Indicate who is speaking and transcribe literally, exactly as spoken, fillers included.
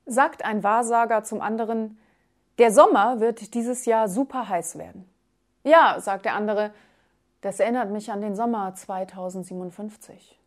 Speaker 1: Sagt ein Wahrsager zum anderen: Der Sommer wird dieses Jahr super heiß werden. Ja, sagt der andere, das erinnert mich an den Sommer zweitausendsiebenundfünfzig.